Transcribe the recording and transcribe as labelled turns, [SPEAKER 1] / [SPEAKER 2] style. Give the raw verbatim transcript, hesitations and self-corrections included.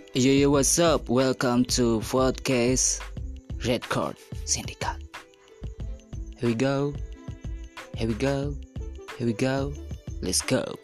[SPEAKER 1] Yo yo, what's up? Welcome to podcast Red Card Syndicate. Here we go. Here we go. Here we go. Let's go.